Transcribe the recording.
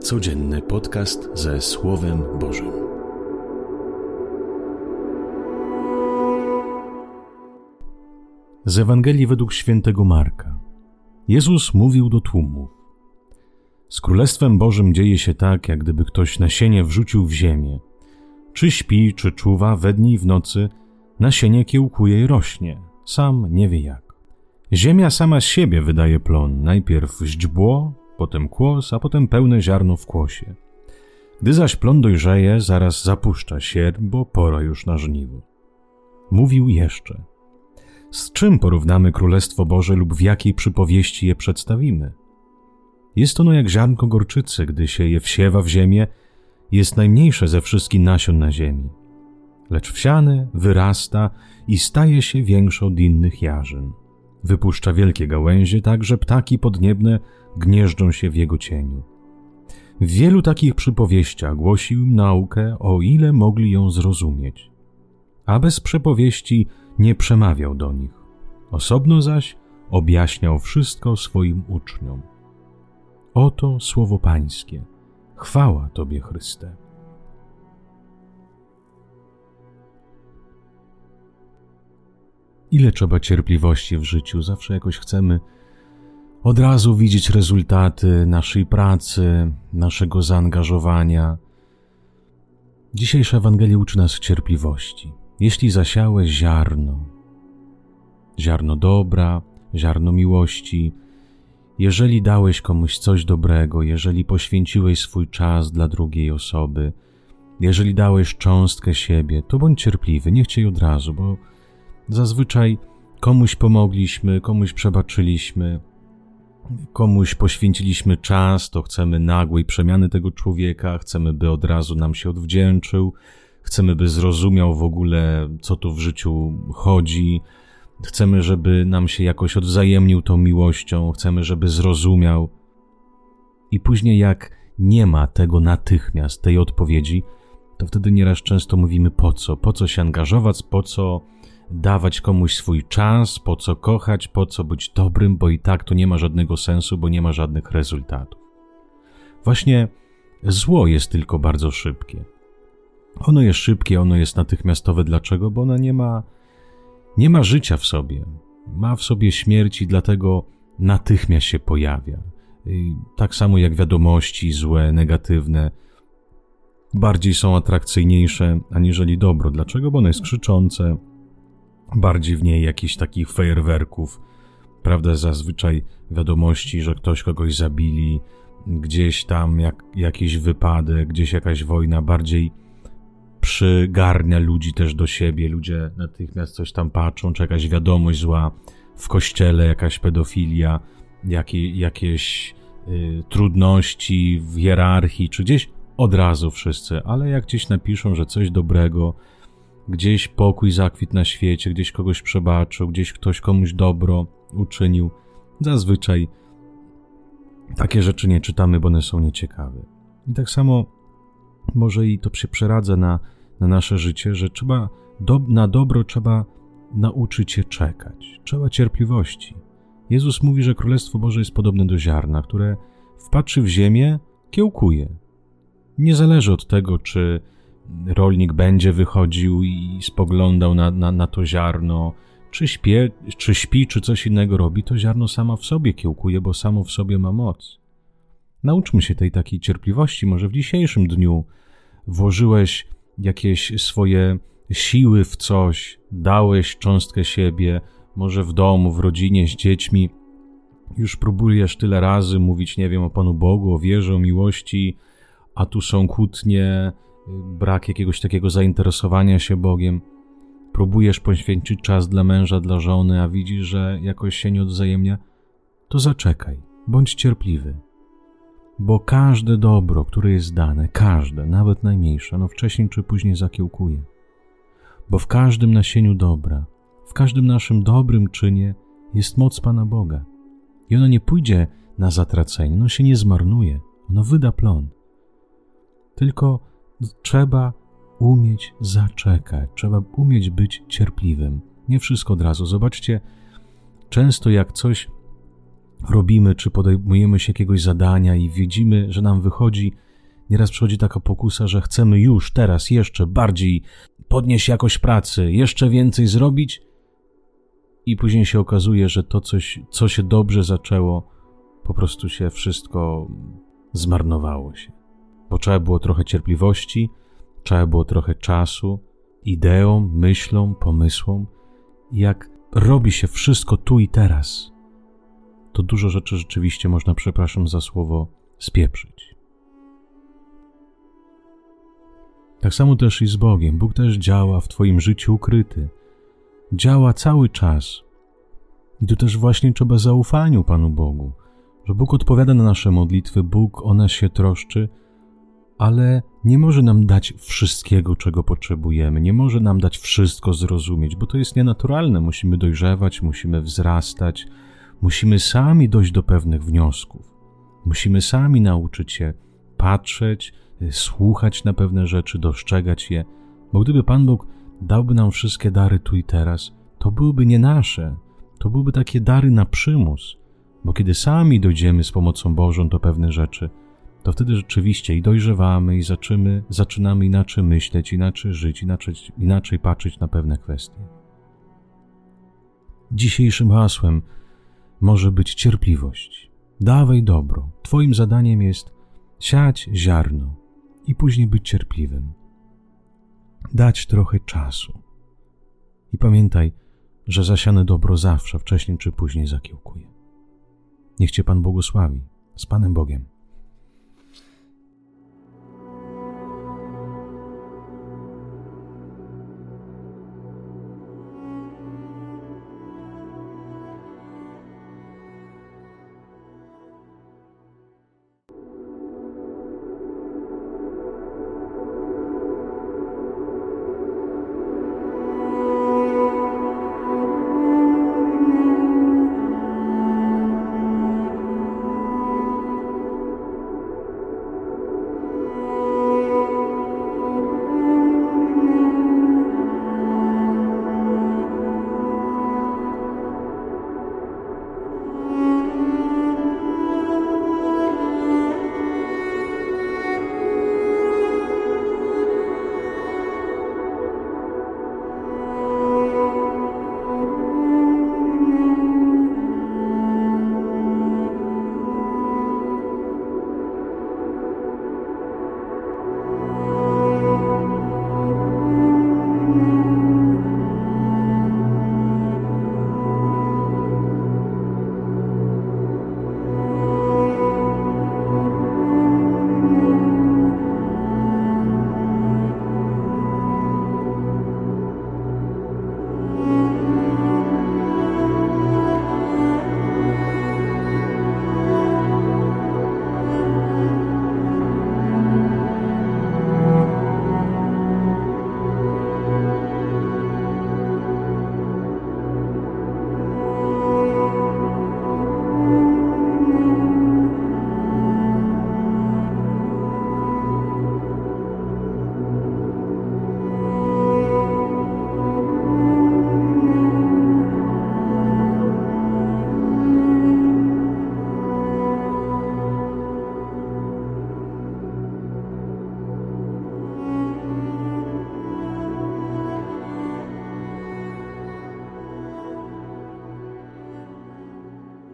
Codzienny podcast ze Słowem Bożym. Z Ewangelii według świętego Marka. Jezus mówił do tłumów: z Królestwem Bożym dzieje się tak, jak gdyby ktoś nasienie wrzucił w ziemię. Czy śpi, czy czuwa, we dnie i w nocy, nasienie kiełkuje i rośnie, sam nie wie jak. Ziemia sama z siebie wydaje plon, najpierw źdźbło, potem kłos, a potem pełne ziarno w kłosie. Gdy zaś plon dojrzeje, zaraz zapuszcza sierp, bo pora już na żniwo. Mówił jeszcze: z czym porównamy Królestwo Boże lub w jakiej przypowieści je przedstawimy? Jest ono jak ziarnko gorczycy, gdy się je wsiewa w ziemię, jest najmniejsze ze wszystkich nasion na ziemi. Lecz wsiane wyrasta i staje się większe od innych jarzyn. Wypuszcza wielkie gałęzie, tak że ptaki podniebne gnieżdżą się w jego cieniu. W wielu takich przypowieściach głosił im naukę, o ile mogli ją zrozumieć. A bez przypowieści nie przemawiał do nich. Osobno zaś objaśniał wszystko swoim uczniom. Oto słowo Pańskie. Chwała Tobie, Chryste. Ile trzeba cierpliwości w życiu? Zawsze jakoś chcemy od razu widzieć rezultaty naszej pracy, naszego zaangażowania. Dzisiejsza Ewangelia uczy nas cierpliwości. Jeśli zasiałeś ziarno dobra, ziarno miłości, jeżeli dałeś komuś coś dobrego, jeżeli poświęciłeś swój czas dla drugiej osoby, jeżeli dałeś cząstkę siebie, to bądź cierpliwy, nie chciej od razu, bo zazwyczaj komuś pomogliśmy, komuś przebaczyliśmy, komuś poświęciliśmy czas, to chcemy nagłej przemiany tego człowieka, chcemy, by od razu nam się odwdzięczył, chcemy, by zrozumiał w ogóle, co tu w życiu chodzi, chcemy, żeby nam się jakoś odwzajemnił tą miłością, chcemy, żeby zrozumiał. I później jak nie ma tego natychmiast, tej odpowiedzi, to wtedy nieraz często mówimy po co się angażować, po co dawać komuś swój czas, po co kochać, po co być dobrym, bo i tak to nie ma żadnego sensu, bo nie ma żadnych rezultatów. Właśnie zło jest tylko bardzo szybkie. Ono jest szybkie, ono jest natychmiastowe. Dlaczego? Bo ono nie ma życia w sobie. Ma w sobie śmierć i dlatego natychmiast się pojawia. I tak samo jak wiadomości złe, negatywne, bardziej są atrakcyjniejsze aniżeli dobro. Dlaczego? Bo ono jest krzyczące, bardziej w niej jakichś takich fajerwerków, prawda, zazwyczaj wiadomości, że ktoś kogoś zabili, gdzieś tam jakiś wypadek, gdzieś jakaś wojna, bardziej przygarnia ludzi też do siebie, ludzie natychmiast coś tam patrzą, czy jakaś wiadomość zła w kościele, jakaś pedofilia, jakieś trudności w hierarchii, czy gdzieś od razu wszyscy, ale jak gdzieś napiszą, że coś dobrego, gdzieś pokój zakwitł na świecie, gdzieś kogoś przebaczył, gdzieś ktoś komuś dobro uczynił. Zazwyczaj takie rzeczy nie czytamy, bo one są nieciekawe. I tak samo może i to się przeradza na nasze życie, że na dobro trzeba nauczyć się czekać. Trzeba cierpliwości. Jezus mówi, że Królestwo Boże jest podobne do ziarna, które wpatrzy w ziemię, kiełkuje. Nie zależy od tego, czy rolnik będzie wychodził i spoglądał na to ziarno, czy śpi, czy coś innego robi, to ziarno samo w sobie kiełkuje, bo samo w sobie ma moc. Nauczmy się tej takiej cierpliwości. Może w dzisiejszym dniu włożyłeś jakieś swoje siły w coś, dałeś cząstkę siebie, może w domu, w rodzinie, z dziećmi. Już próbujesz tyle razy mówić, nie wiem, o Panu Bogu, o wierze, o miłości, a tu są kłótnie, brak jakiegoś takiego zainteresowania się Bogiem. Próbujesz poświęcić czas dla męża, dla żony, a widzisz, że jakoś się nie odwzajemnia, to zaczekaj, bądź cierpliwy. Bo każde dobro, które jest dane, każde, nawet najmniejsze, ono wcześniej czy później zakiełkuje. Bo w każdym nasieniu dobra, w każdym naszym dobrym czynie jest moc Pana Boga. I ono nie pójdzie na zatracenie, ono się nie zmarnuje, ono wyda plon. Tylko trzeba umieć zaczekać, trzeba umieć być cierpliwym. Nie wszystko od razu. Zobaczcie, często jak coś robimy, czy podejmujemy się jakiegoś zadania i widzimy, że nam wychodzi, nieraz przychodzi taka pokusa, że chcemy już, teraz, jeszcze bardziej podnieść jakość pracy, jeszcze więcej zrobić i później się okazuje, że to coś, co się dobrze zaczęło, po prostu się wszystko zmarnowało się. Bo trzeba było trochę cierpliwości, trzeba było trochę czasu, ideom, myślom, pomysłom. I jak robi się wszystko tu i teraz, to dużo rzeczy rzeczywiście można, przepraszam za słowo, spieprzyć. Tak samo też i z Bogiem. Bóg też działa w twoim życiu ukryty. Działa cały czas. I tu też właśnie trzeba zaufaniu Panu Bogu, że Bóg odpowiada na nasze modlitwy, Bóg o nas się troszczy, ale nie może nam dać wszystkiego, czego potrzebujemy, nie może nam dać wszystko zrozumieć, bo to jest nienaturalne. Musimy dojrzewać, musimy wzrastać, musimy sami dojść do pewnych wniosków. Musimy sami nauczyć się patrzeć, słuchać na pewne rzeczy, dostrzegać je, bo gdyby Pan Bóg dałby nam wszystkie dary tu i teraz, to byłyby nie nasze, to byłyby takie dary na przymus, bo kiedy sami dojdziemy z pomocą Bożą do pewnych rzeczy, to wtedy rzeczywiście i dojrzewamy i zaczynamy inaczej myśleć, inaczej żyć, inaczej patrzeć na pewne kwestie. Dzisiejszym hasłem może być cierpliwość. Dawaj dobro. Twoim zadaniem jest siać ziarno i później być cierpliwym. Dać trochę czasu. I pamiętaj, że zasiane dobro zawsze, wcześniej czy później zakiełkuje. Niech Cię Pan błogosławi. Z Panem Bogiem.